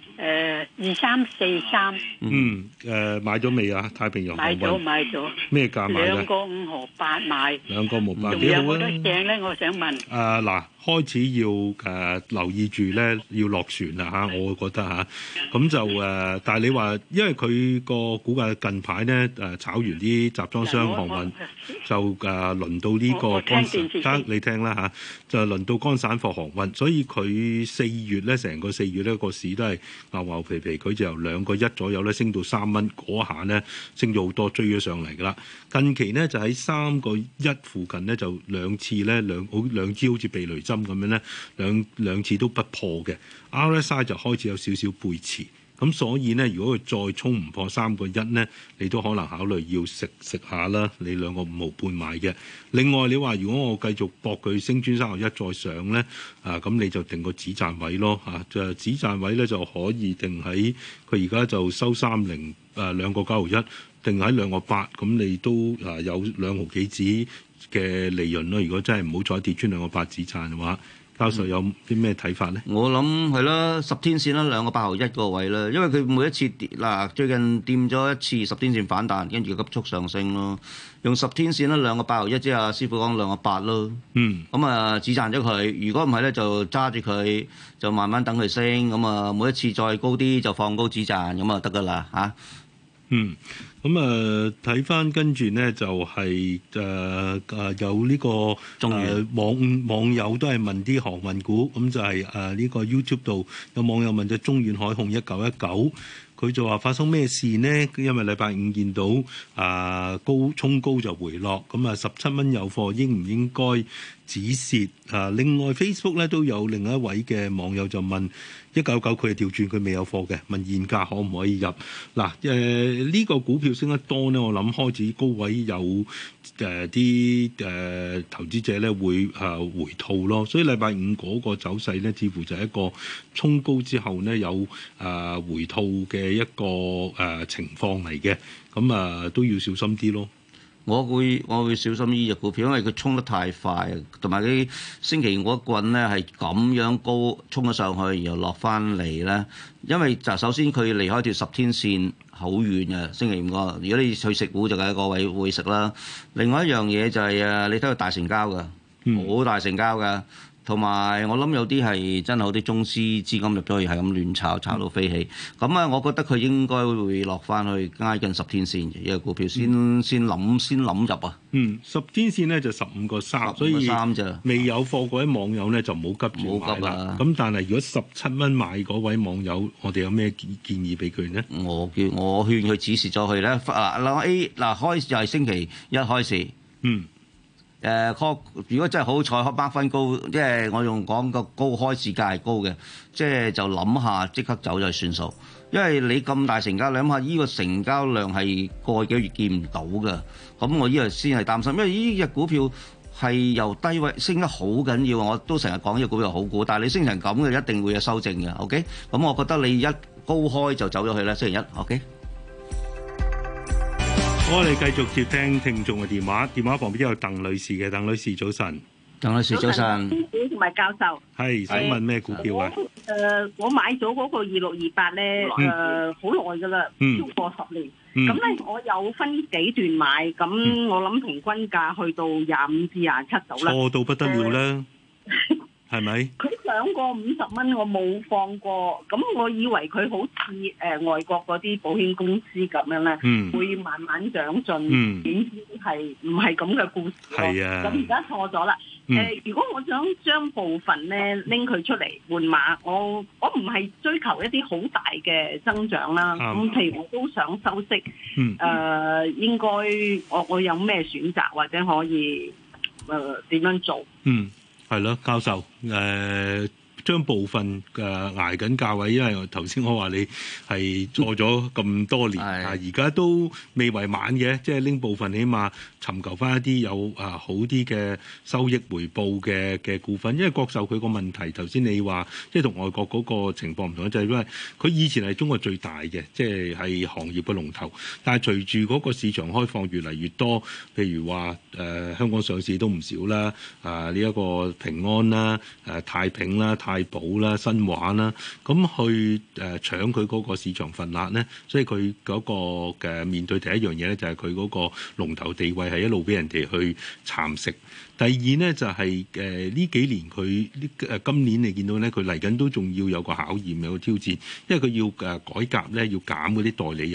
？2343。 買咗未啊？太平洋航運。 買咗。咩價買嘅？ 2個5毫8買。 2個5毫8。 仲有冇得正咧？我想問。 嗱。開始要留意住咧，要落船啦嚇，我會覺得嚇，咁就但係你話，因為佢個股價近排咧炒完啲集裝箱航運，就輪到呢個乾散，你聽啦嚇，就輪到乾散貨航運，所以佢4月咧，成個4月咧個市都係牛牛皮皮，佢就由2個1左右咧升到3蚊，嗰下咧升咗好多，追咗上嚟㗎啦。近期咧就喺3個1附近咧就兩次咧兩支好似避雷針咁樣咧，兩次都不破嘅 RSI 就開始有少少背馳，咁所以咧，如果佢再衝唔破3個1咧，你都可能考慮要食下啦。你2個5毫半買嘅。另外你話如果我繼續搏佢升穿3個1再上咧，咁你就定個止賺位咯嚇，就止賺位咧就可以定喺佢而家就收30 2個9毫1，定喺2個8，咁你都有2毫幾子嘅利潤咯。如果真係唔好再跌穿2個8止賺嘅話，教授有啲咩睇法咧？ 我諗係啦，10天線啦，2個8毫1個位啦，因為佢每一次跌最近掂咗一次10天線反彈，跟住急速上升咯。用10天線啦，2個8毫1，即係阿師傅講2個8咯。咁止賺咗佢。如果唔係咧，就揸住佢，就慢慢等佢升。咁每一次再高啲就放高止賺，咁啊得㗎啦嚇。 咁睇翻跟住呢就係有呢個網友都係問啲航運股，咁就係呢個 YouTube 度有網友問咗中遠海控1919， 佢就話發生咩事呢？因為禮拜五見到衝高就回落，咁啊17蚊有貨，應唔應該止蝕？另外 Facebook 咧都有另一位嘅網友就問199，佢係調轉，佢未有貨嘅，問現價可唔可以入？嗱呢個股票升得多呢，我諗開始高位有啲投資者咧會回吐咯，所以禮拜五嗰個走勢咧，似乎就係一個衝高之後呢，有回吐嘅一個情況嚟嘅，咁都要小心啲咯。 我會小心呢隻股票，因為佢衝得太快，同埋啲星期五嗰棍咧係咁樣高衝咗上去，然後落翻嚟咧。因為就首先佢離開條10天線好遠嘅，星期五個。如果你去食股就喺個位會食啦。另外一樣嘢就係你睇佢大成交㗎，好大成交㗎。同埋我諗有啲係真係好啲中資資金入咗去，係咁亂炒到飛起。咁我覺得佢應該會落翻去挨近10天線嘅，呢個股票先諗入啊。 10天線咧就15個3，所以未有貨嗰位網友咧就唔好急住買啦。咁但係如果17蚊買嗰位網友，我哋有咩建議俾佢呢？ 我勸佢止蝕咗佢咧。開就係星期一開始。如果真係好彩，mark 分高，即係我用講個高開市價係高嘅，即係就諗下即刻走就算數。因為你咁大成交，你諗下呢個成交量係過幾個月見唔到嘅，咁我呢個先係擔心。因為呢隻股票係由低位升得好緊要，我都成日講呢隻股票好股，但係你升成咁嘅，一定會有修正嘅。OK，咁我覺得你一高開就走咗去啦，星期一。OK。 我哋繼續接聽眾嘅電話，電話旁邊有鄧女士嘅。鄧女士早晨。 鄧女士早晨。 同埋教授。 係想問咩股票啊？ 我買咗嗰個2628咧，好耐㗎啦，超過10年。咁咧，我有分幾段買，咁我諗平均價去到25至27度啦。 錯到不得了啦，係咪？ 佢上過50蚊，我冇放過。咁我以為佢好似外國嗰啲保險公司咁樣咧，會慢慢長進。點知係唔係咁嘅故事咯？係啊。咁而家錯咗啦。如果我想將部分咧拎佢出嚟換馬，我唔係追求一啲好大嘅增長啦。咁譬如我都想收息。應該我有咩選擇或者可以點樣做？ 係咯，教授，將部分捱緊價位，因為頭先我話你係做咗咁多年，而家都未為晚嘅，即係拎部分起碼尋求翻一啲有好啲嘅收益回報嘅股份。因為國壽佢個問題，頭先你話即係同外國嗰個情況唔同，就係因為佢以前係中國最大嘅，即係行業嘅龍頭，但係隨住嗰個市場開放越嚟越多，譬如話香港上市都唔少啦，呢一個平安啦、太平啦、太保啦、新華啦，咁去搶佢嗰個市場份額咧，所以佢嗰個嘅面對第一樣嘢咧，就係佢嗰個龍頭地位係一路俾人哋去蠶食。第二咧就係呢幾年佢今年你見到咧，佢嚟緊都仲要有個考驗，有個挑戰，因為佢要改革咧，要減嗰啲代理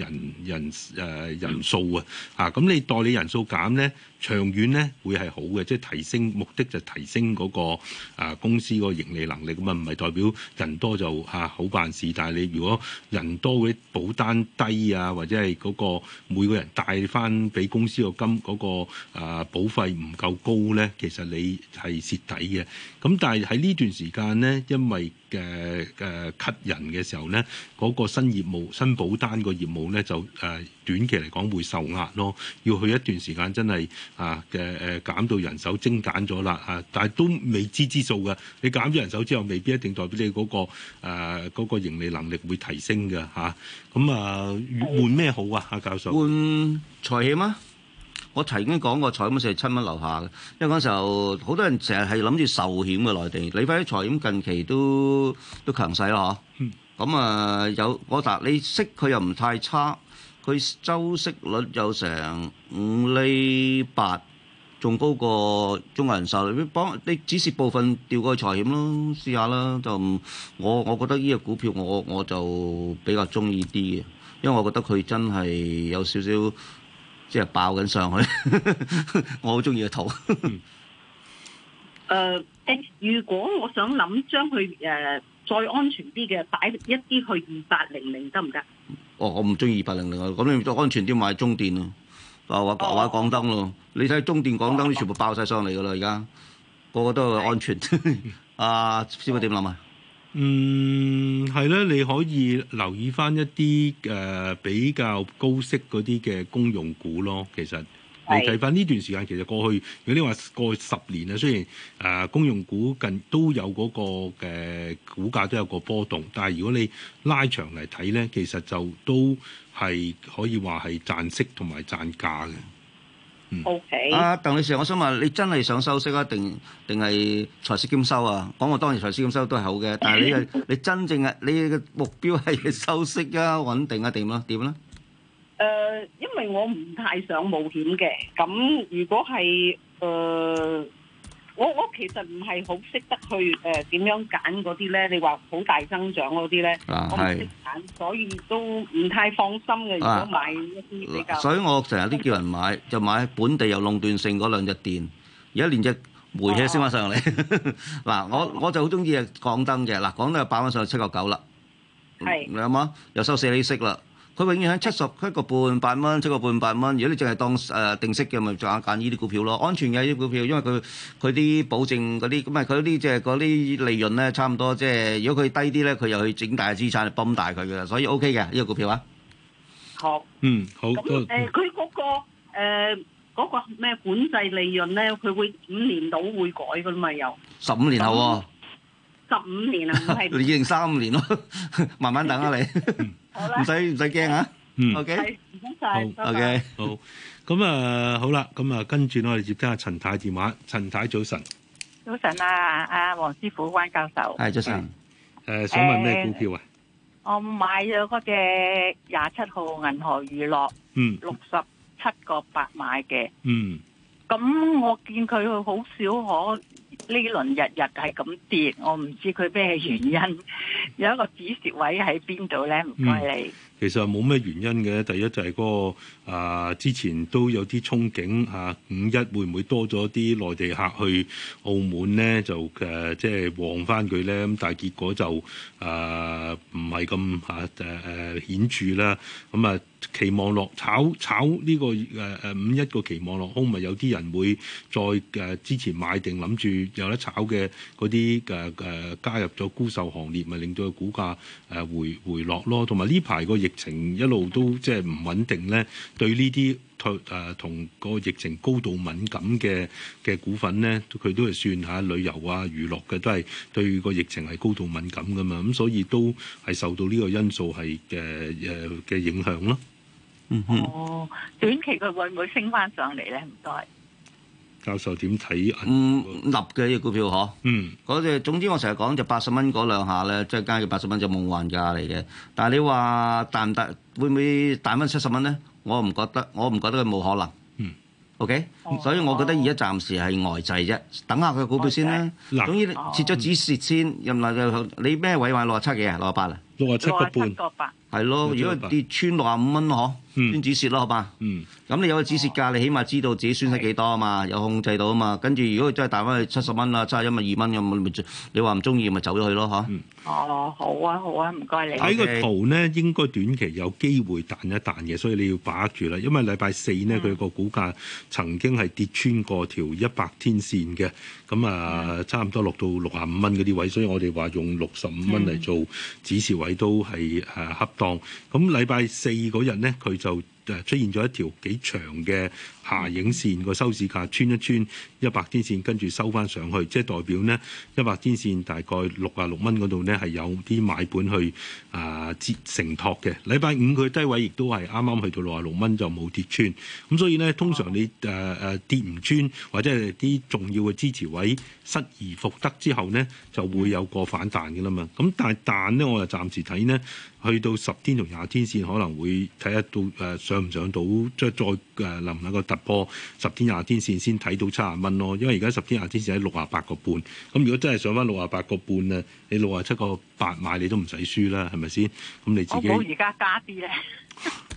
人數啊，咁你代理人數減咧，長遠咧會係好嘅，即係提升，目的就提升嗰個公司個盈利能力。咁唔係代表人多就好辦事，但係你如果人多嗰啲保單低啊，或者係嗰個每個人帶翻俾公司個金嗰個保費唔夠高咧，其實你係蝕底嘅。咁但係喺呢段時間咧，因為cut 人嘅時候咧，嗰個新業務、新保單個業務咧就短期嚟講會受壓咯。要去一段時間真係減到人手精簡咗啦，但係都未知之數嘅。你減咗人手之後，未必一定代表你嗰個盈利能力會提升嘅嚇。咁換咩好啊？教授換財險啊！我曾經講過財險係7蚊樓下嘅，因為嗰時候好多人成日係諗住壽險嘅內地，你睇財險近期都強勢咯嗬。咁你息佢又唔太差，佢周息率有成5.8厘，仲高過中國人壽。你只是部分調過去財險咯，試下啦。我覺得呢個股票我就比較中意啲嘅，因為我覺得佢真係有少少。即係爆緊上去，我好中意個圖。 如果我想諗將佢再安全啲嘅擺一啲去2800得唔得？ 我唔中意2800啊，咁你就安全啲買中電咯，或港燈咯。你睇中電、港燈全部爆晒上嚟㗎啦，而家個個都係安全。師傅點諗啊？ 係咧，你可以留意翻一啲比較高息嗰啲嘅公用股咯。其實你睇翻呢段時間，其實過去如果你話過去10年啊，雖然公用股近都有嗰個嘅股價都有個波動，但係如果你拉長嚟睇咧，其實就都係可以話係賺息同埋賺價嘅。 OK。 鄧女士，我想問你真係想收息啊，定係財息兼收啊？講我當然財息兼收都係好嘅，但係你真正係你嘅目標係收息啊、穩定啊，點咧？ 因為我唔太想冒險嘅，咁如果係我其實唔係好識得去點樣揀嗰啲咧。你話好大增長嗰啲咧，我唔識揀，所以都唔太放心嘅。如果買一啲比較， 所以我成日都叫人買，就買本地有壟斷性嗰兩隻電，而家連隻煤氣升翻上嚟。嗱，我就好中意港燈嘅，嗱，港燈又爆翻上去7.9啦，係你諗下，又收4厘息啦。佢永遠喺7個半8蚊，7個半8蚊。如果你淨係當定息嘅，咪揀呢啲股票咯，安全嘅呢啲股票，因為佢啲保證嗰啲，咁啊佢啲即係嗰啲利潤咧，差唔多即係如果佢低啲咧，佢又去整大資產嚟泵大佢嘅，所以 OK 嘅呢個股票啊。 好， 好。 咁佢嗰個咩管制利潤咧，佢會5年到會改噶嘛？又 15年後喎。 15年啊，唔係 2035年咯，慢慢等啊你，唔使驚啊。OK， 唔該曬。 OK， 好。咁好啦，咁跟住我哋接聽下陳太電話。陳太早晨。 早晨啊，黃師傅、關教授。 係早晨。 想問咩股票啊？ 我買咗嗰隻27號銀河娛樂，67.8買嘅。咁我見佢好少可。呢輪日日係咁跌，我唔知佢咩原因。有一個止蝕位喺邊度咧？唔該你。 其實冇咩原因嘅。第一就係嗰個之前都有啲憧憬5.1會唔會多咗啲內地客去澳門咧？就即係旺翻佢咧。咁但係結果就唔係咁顯著啦。咁期望落炒呢個5.1個期望落空，咪有啲人會再之前買定諗住有得炒嘅嗰啲加入咗沽售行列，咪令到個股價回落咯。同埋呢排個疫情一路都即係唔穩定咧，對呢啲同個疫情高度敏感嘅股份咧，佢都係算下旅遊啊、娛樂嘅，都係對個疫情係高度敏感噶嘛。咁所以都係受到呢個因素係嘅影響咯。 短期佢會唔會升翻上嚟咧？唔該。 教授點睇？ 立嘅呢個股票嗬。嗰隻總之我成日講就80蚊嗰兩下咧，即係加嘅80蚊就夢幻價嚟嘅。但係你話大唔大？會唔會大蚊70蚊咧？我唔覺得佢冇可能。OK，所以我覺得而家暫時係呆滯啫，等下佢股票先啦。總之切咗止蝕先，任嚟就你咩位買67幾啊？68啊 ？67個半。 係咯，如果跌穿65蚊嗬，先止蝕咯，好嘛？咁你有個止蝕價，你起碼知道自己損失幾多啊嘛，有控制到啊嘛。跟住如果真係彈翻去70蚊啦，71咪2蚊咁，你話唔中意咪走咗去咯，嚇。 好啊，唔該你。 睇個圖咧，應該短期有機會彈一彈嘅，所以你要把握住啦。因為禮拜4呢，佢個股價曾經係跌穿過條100天線嘅，咁差唔多落到65蚊嗰啲位，所以我哋話用65蚊嚟做止蝕位都係恰當。咁禮拜4嗰日呢，佢就出現咗一條幾長嘅下影線，個收市價穿一穿100天線，跟住收翻上去，即係代表呢100天線大概66蚊嗰度呢係有啲買盤去承托嘅。禮拜5佢低位亦都係啱啱去到66蚊就冇跌穿，咁所以呢，通常你跌唔穿或者係啲重要嘅支持位失而復得之後呢，就會有個反彈嘅啦嘛。咁但係彈呢，我就暫時睇呢，去到10天同20天線可能會睇得到上唔上到，即係再能唔能夠突破10天20天線先睇到70蚊咯。因為而家10天20天線喺68個半，咁如果真係上翻68個半啊，你67個8買你都唔使輸啦，係咪先？咁你自己我冇而家加啲咧。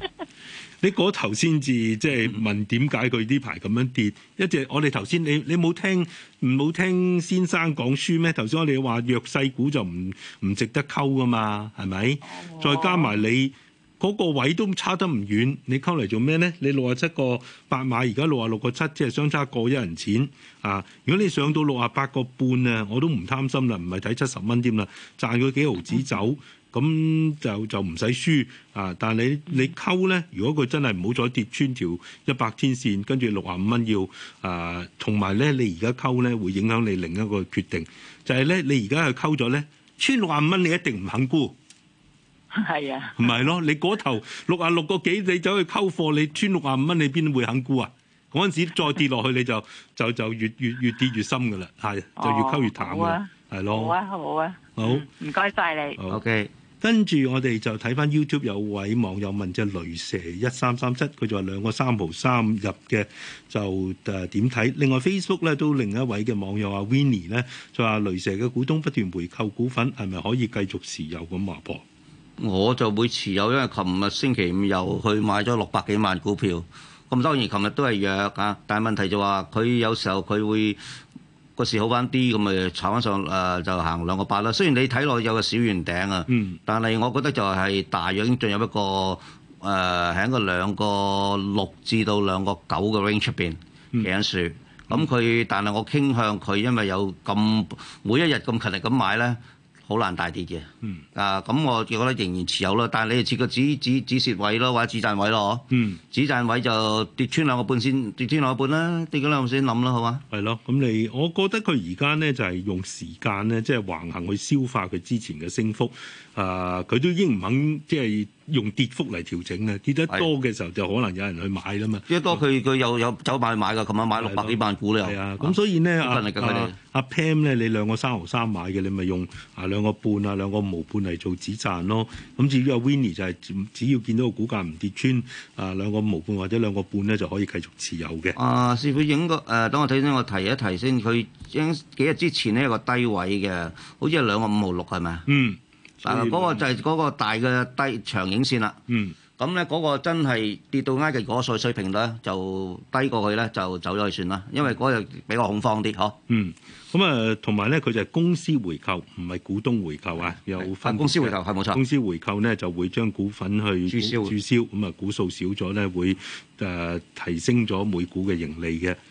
你嗰頭先至即係問點解佢呢排咁樣跌？一隻我哋頭先你冇聽先生講書咩？頭先我哋話弱勢股就唔值得溝噶嘛，係咪？再加埋你嗰個位都差得唔遠，你溝嚟做咩咧？你67個8買，而家66個7，即係相差過1人錢啊！如果你上到68個半啊，我都唔貪心啦，唔係睇70蚊添啦，賺佢幾毫子走。咁就唔使輸啊！但係你溝咧，如果佢真係唔好再跌穿條100天線，跟住65蚊要啊，同埋咧你而家溝咧會影響你另一個決定，就係咧你而家去溝咗咧，穿65蚊你一定唔肯沽， 係啊， 唔係咯？你嗰頭66個幾你走去溝貨，你穿65蚊你邊會肯沽啊？嗰陣時再跌落去你就越跌越深㗎啦，係就越溝越淡㗎，係咯。 好啊， 好， 唔該晒你。 OK。 跟住我哋就睇翻 YouTube 有位網友問隻雷蛇1337，佢就話2個3毫3入嘅，就點睇？另外 Facebook 咧都另一位嘅網友阿 Winnie 咧就話雷蛇嘅股東不斷回購股份，係咪可以繼續持有咁話噃？ 我就會持有，因為琴日星期五又去買咗600幾萬股票，咁當然琴日都係弱啊，但係問題就話佢有時候佢會個市好翻啲，咁咪炒翻上就行2個8啦。雖然你睇落有個小圓頂啊，但係我覺得就係大約已經進入一個喺個2個6至到2個9嘅 range 出邊企緊樹。咁佢，但係我傾向佢，因為有咁每一日咁勤力咁買咧，好難大跌嘅。咁我覺得仍然持有咯。但係你哋設個止蝕位咯，或者止賺位咯，止賺位就跌穿2個半先，跌穿2個半啦，跌咗2個先諗啦，好嘛？ 係咯，咁我覺得佢而家咧就係用時間咧，即係橫行去消化佢之前嘅升幅。佢都已經唔肯即係用跌幅嚟調整嘅，跌得多嘅時候就可能有人去買啦嘛。 跌得多佢有走買㗎，琴晚買600幾萬股咧。 係啊，咁所以咧阿 Pam 咧，你2個3毫3買嘅，你咪用2個半2個毫半嚟做止賺咯。咁至於阿 Winnie 就係只要見到個股價唔跌穿2個毫半或者2個半咧，就可以繼續持有嘅。 師傅應該等我睇先，我提一提先。佢幾日之前呢有個低位嘅，好似係2個5毫6係咪？嗰個就係嗰個大嘅低長影線啦。咁咧嗰個真係跌到挨近嗰個水平咧，就低過去咧就走咗去算啦。因為嗰日比較恐慌啲，嗬。 咁同埋咧，佢就係公司回購，唔係股東回購啊。有分公司回購係冇錯。 公司回購咧就會將股份去註銷，咁啊股數少咗咧會提升咗每股嘅盈利嘅。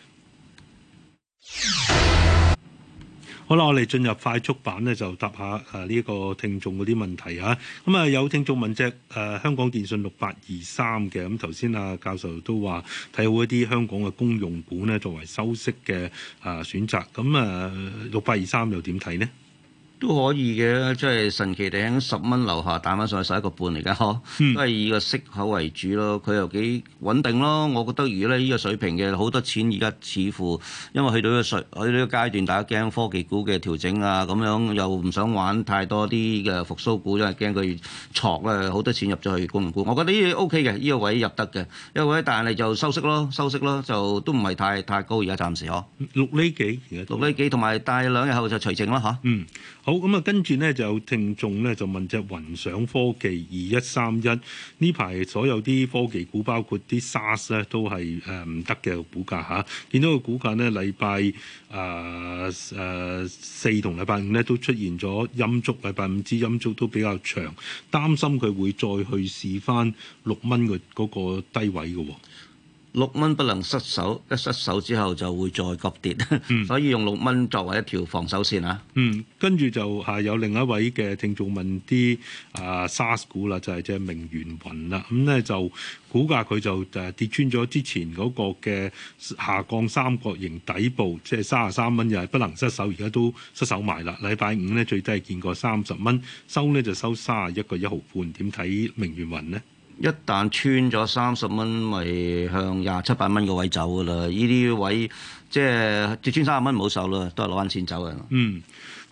好啦，我哋進入快速版咧，就答下呢個聽眾嗰啲問題啊。咁啊，有聽眾問隻香港電訊6823嘅，咁頭先教授都話睇好一啲香港嘅公用股咧，作為收息嘅選擇。咁6823又點睇呢？ 都可以嘅，即係神奇地喺10蚊樓下彈翻上去11個半嚟㗎，都係以個息口為主咯。佢又幾穩定咯。我覺得如果咧呢個水平嘅好多錢，而家似乎因為去到呢個階段，大家驚科技股嘅調整啊，咁樣又唔想玩太多啲嘅復甦股，因為驚佢挫咧，好多錢入咗去公用股。我覺得呢個 OK 嘅，呢個位入得嘅，呢個位但係就收息咯，就都唔係太高而家暫時嗬。 6厘幾而家？6 厘幾，同埋但係2日後就除淨啦嚇。 好，咁跟住咧就有聽眾咧就問隻雲想科技2131呢排所有啲科技股包括啲 SaaS 咧都係唔得嘅股價嚇，見到個股價咧禮拜4同禮拜5咧都出現咗陰燭，禮拜5支陰燭都比較長，擔心佢會再去試翻6蚊嘅嗰個低位嘅喎。 6蚊不能失手，一失手之後就會再急跌，所以用6蚊作為一條防守線啊。 跟住就有另一位嘅聽眾問啲SaaS 股啦，就係隻明源雲啦。咁咧就股價佢就跌穿咗之前嗰個嘅下降三角形底部，即係33蚊，又係不能失手，而家都失手埋啦。禮拜5咧最低係見過30蚊，收咧就收31個1毫半。點睇明源雲呢？ 一旦穿咗30蚊，咪向27、8蚊個位走噶啦。呢啲位即係跌穿30蚊唔好受啦，都係攞翻錢走嘅。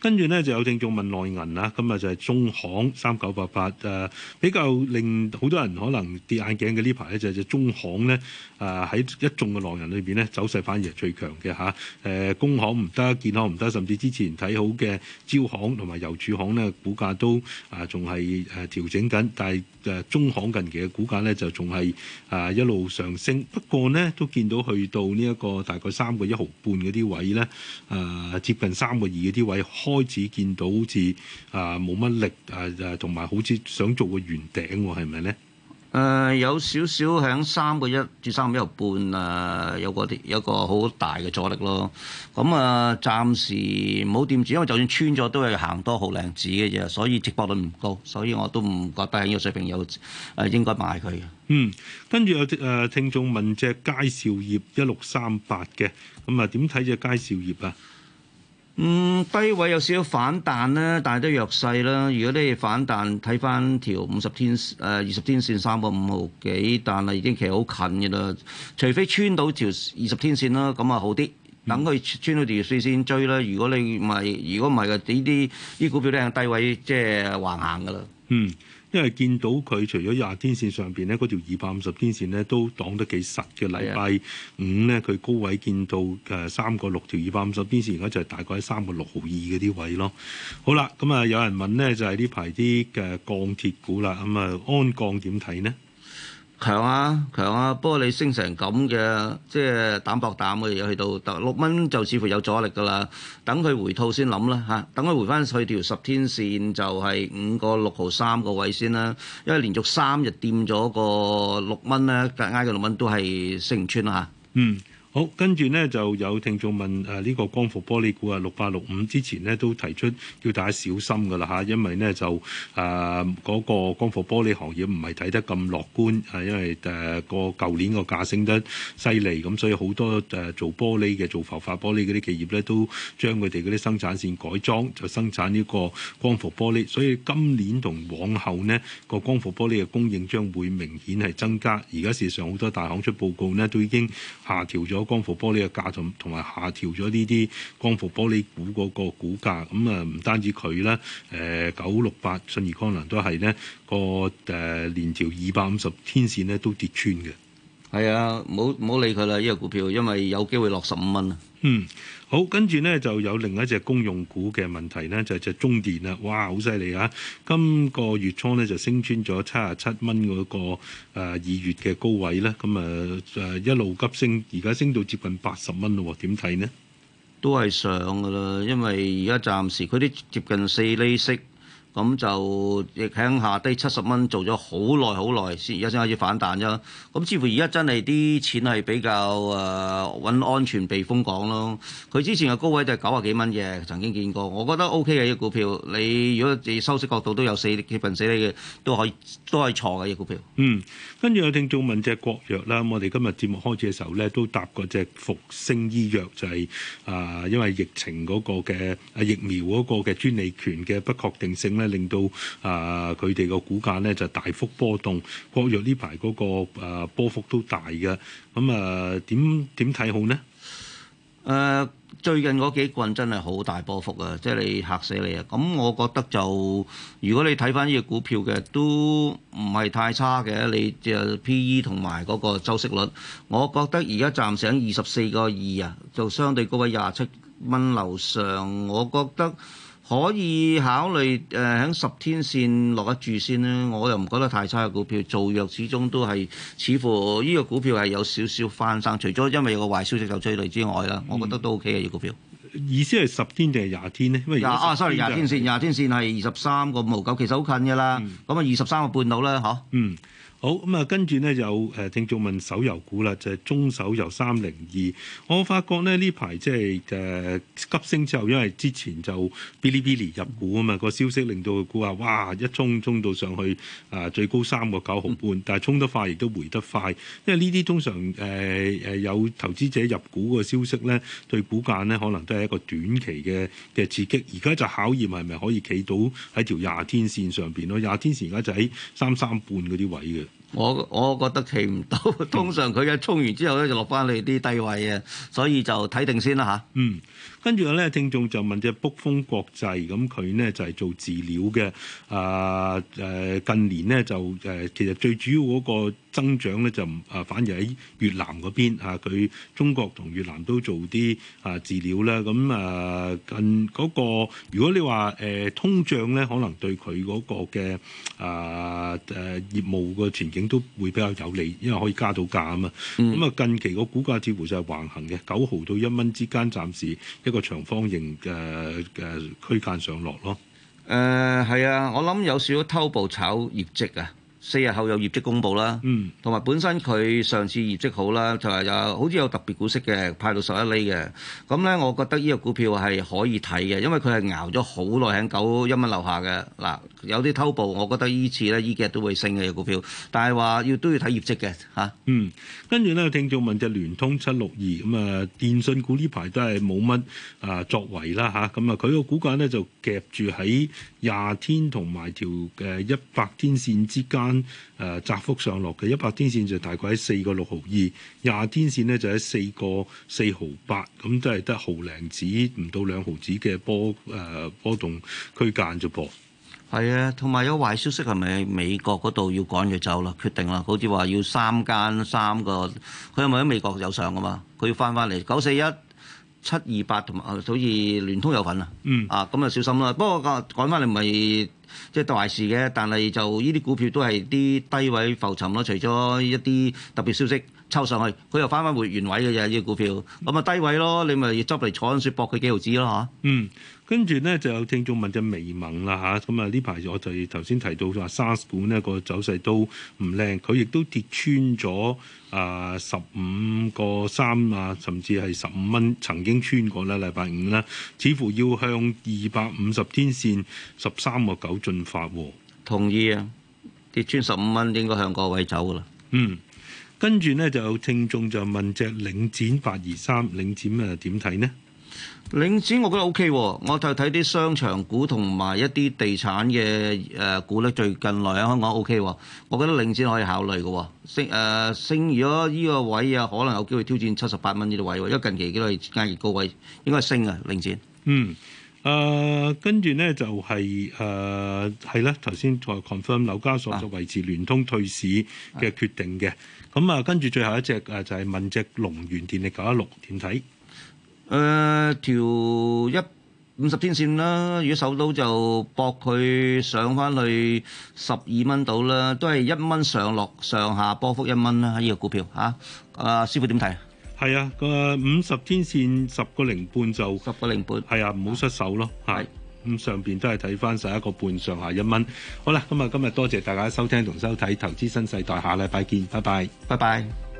跟住咧就有聽眾問內銀啦，今日就係中行3988比較令好多人可能跌眼鏡嘅呢排咧，就係中行咧喺一眾嘅內銀裏邊咧走勢反而係最強嘅嚇。工行唔得，建行唔得，甚至之前睇好嘅招行同埋郵儲行咧股價都仲係調整緊，但係中行近期嘅股價咧就仲係一路上升，不過呢，都見到去到呢一個大概3個1毫半嗰啲位咧，接近3個2嗰啲位開始見到好似冇乜力同埋好似想做個圓頂喎，係咪咧？ 有少少喺3個1至3個1毫半有個好大嘅阻力咯。咁暫時唔好掂住，因為就算穿咗都係行多毫零子嘅啫，所以值博率唔高，所以我都唔覺得喺呢個水平有應該買佢嘅。 跟住有聽眾問隻佳兆業1638嘅，咁點睇隻佳兆業啊？ 低位有少少反彈啦，但係都弱勢啦。如果你反彈睇翻條20天線3個5毫幾，但係已經其實好近嘅啦。除非穿到條20天線啦，咁好啲。等佢穿到條線先追啦。如果唔係嘅，呢啲股票咧喺低位即係橫行嘅啦。 因為見到佢除咗20天線上邊咧，嗰條250天線咧都擋得幾實嘅。禮拜五咧，佢高位見到3個6條250天線，而家就係大概喺3個6毫2嗰啲位咯。好啦，咁有人問咧，就係呢排啲嘅鋼鐵股啦，咁鞍鋼點睇呢？ 強啊！不過你升成咁嘅，即係膽薄膽嘅，又去到6蚊就似乎有阻力㗎啦。等佢回吐先諗啦嚇，等佢回翻去條10天線就係5個6毫3個位先啦。因為連續3日掂咗個6蚊咧，挨個6蚊都係升唔穿啦嚇。 好，跟住呢就有聽眾問呢個光伏玻璃股6865之前呢都提出要大家小心㗎啦嚇，因為呢就嗰個光伏玻璃行業唔係睇得咁樂觀，因為個舊年個價升得犀利，咁所以好多做玻璃嘅做浮法玻璃嗰啲企業咧都將佢哋嗰啲生產線改裝，就生產呢個光伏玻璃，所以今年同往後呢個光伏玻璃嘅供應將會明顯係增加。而家事實上好多大行出報告呢都已經下調咗光伏玻璃嘅價同埋下調咗呢啲光伏玻璃股嗰個股價，咁唔單止佢啦，968信義光能都係呢個連條250天線呢都跌穿嘅。 係啊，唔好理佢啦，呢個股票，因為有機會落15蚊啊。 好，跟住呢就有另一隻公用股嘅問題呢，就係隻中電啦。哇，好犀利啊！今個月初呢就升穿咗77蚊嗰個2月嘅高位咧，咁一路急升，而家升到接近80蚊咯。點睇呢？ 都係上噶啦，因為而家暫時佢啲接近4厘息。咁就亦喺下低70蚊做咗好耐先，而家先開始反彈啫。咁似乎而家真係啲錢係比較揾安全避風港咯。佢之前嘅高位就係90幾蚊嘅，曾經見過。我覺得 OK 嘅呢個股票，你如果自己收息角度都有接近4厘嘅，都可以錯嘅呢個股票。 跟住有聽眾問隻國藥啦，我哋今日節目開始嘅時候咧，都答過隻復星醫藥，就係因為疫情嗰個嘅疫苗嗰個嘅專利權嘅不確定性咧，令到佢哋個股價咧就大幅波動。國藥呢排嗰個波幅都大嘅，咁點睇好呢？ 最近嗰幾棍真係好大波幅啊！即係你嚇死你啊！咁我覺得就如果你睇翻呢個股票嘅，都唔係太差嘅。你就 P/E 同埋嗰個周息率，我覺得而家暫時喺24個2啊，就相對高位27蚊樓上，我覺得可以考慮喺10天線落一注先啦。我又唔覺得太差嘅股票，做藥始終都係似乎呢個股票係有少少翻生，除咗因為有個壞消息就追累之外啦，我覺得都 OK 嘅呢個股票。 意思係10天定係20天呢？因為 sorry 20天線，20天線係23個5毫9，其實好近㗎啦。咁23個半到啦，嗬。 好，咁跟住呢，有聽眾問手遊股啦，就係中手遊302。我發覺呢排即係急升之後，因為之前就嗶哩嗶哩入股啊嘛，個消息令到佢估話哇一衝到上去最高3個9毫半，但係衝得快亦都回得快，因為呢啲通常有投資者入股個消息呢，對股價呢可能都係一個短期嘅刺激。而家就考驗係咪可以企到喺條20天線上邊咯？20天線而家就喺33半嗰啲位嘅。 我覺得企唔到，通常佢一衝完之後咧就落翻嚟啲低位啊，所以就睇定先啦嚇。 跟住咧，聽眾就問隻卜蜂國際，咁佢呢就係做飼料嘅，近年呢就其實最主要嗰個增長咧就反而喺越南嗰邊佢中國同越南都做啲飼料啦，咁近嗰個如果你話通脹咧，可能對佢嗰個嘅業務個前景都會比較有利，因為可以加到價啊嘛。咁近期個股價似乎就係橫行嘅，9毫到1蚊之間，暫時一個長方形嘅區間上落咯。 係啊，我諗有少少偷步炒業績啊。4日後有業績公佈啦，同埋本身佢上次業績好啦，就係好似有特別股息嘅，派到11厘嘅。咁咧，我覺得呢個股票係可以睇嘅，因為佢係熬咗好耐喺91蚊樓下嘅。嗱，有啲偷步，我覺得依次咧依幾日都會升嘅股票，但係話都要睇業績嘅嚇。 跟住咧，聽眾問隻聯通762咁啊，電信股呢排都係冇乜作為啦嚇。咁佢個股價咧就夾住喺20天同埋條100天線之間。窄幅上落嘅100天線就大概喺4個6毫2，20天線呢就喺4個4毫8，咁都係得毫零子唔到2毫子嘅波動區間啫噃。 係啊，同埋有壞消息係咪美國嗰度要趕佢走啦？決定啦，好似話要3個，佢係咪喺美國有上㗎嘛？佢要翻嚟941、728同埋好似聯通有份啊。咁啊小心啦。不過趕翻嚟唔係即係壞事嘅，但係就呢啲股票都係啲低位浮沉咯。除咗一啲特別消息抽上去，佢又翻回原位嘅啫。呢個股票咁啊低位咯，你咪執嚟坐緊雪搏佢幾毫子咯嚇。 跟住咧就有聽眾問隻微盟啦嚇，咁呢排我就頭先提到話 SARS 股呢個走勢都唔靚，佢亦都跌穿咗15個3啊，甚至係15蚊曾經穿過啦，禮拜五啦，似乎要向250天線13個9進發喎。 同意啊，跌穿15蚊應該向個位走噶啦。 跟住呢就有聽眾就問隻領展823，領展點睇呢？ 領展我覺得 OK 喎，我就睇啲商場股同埋一啲地產嘅股咧，最近來喺香港 OK 喎，我覺得領展可以考慮嘅升，如果呢個位可能有機會挑戰78蚊呢個位，因為近期都係間熱高位，應該係升啊領展。 跟住呢就係係啦，頭先再 confirm 紐交所就維持聯通退市嘅決定嘅。咁跟住最後一隻就係問隻龍源電力916點睇？ 條50天線啦，如果守到就搏佢上翻去12蚊到啦，都係1蚊上落上下波幅1蚊啦。呢個股票嚇，師傅點睇？ 係啊，個50天線10個零半就 10個零半， 係啊，唔好失手咯。係咁上邊都係睇翻11個半上下1蚊。好啦，今日多謝大家收聽同收睇《投資新世代》，下禮拜見，拜拜， 拜拜。